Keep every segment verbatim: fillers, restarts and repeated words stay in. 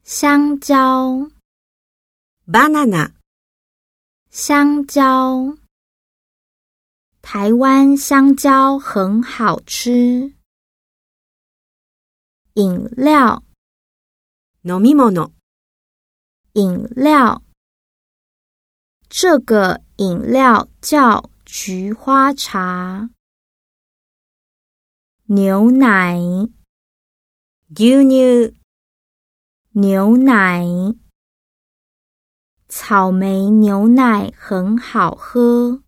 香蕉 banana 香蕉台湾香蕉很好吃。饮料飲み物饮料这个饮料叫菊花茶。牛奶牛乳牛奶草莓牛奶很好喝。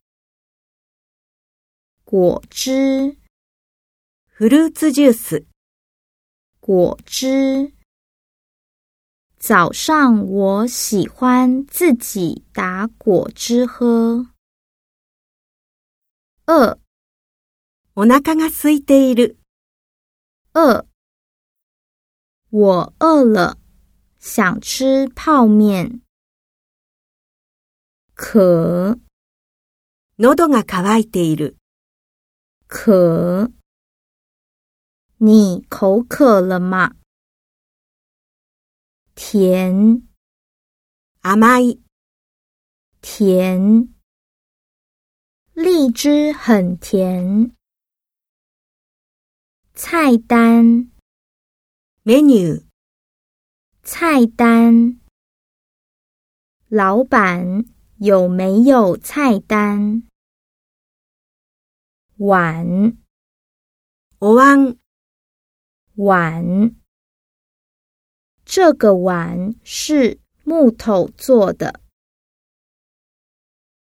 果汁フルーツジュース果汁早上我喜欢自己打果汁喝。饿お腹が空いている饿我饿了想吃泡面。渴喉が渇いている渴你口渴了吗？甜甘い甜荔枝很甜。菜单メニュー菜单老板有没有菜单？碗お椀碗这个碗是木头做的。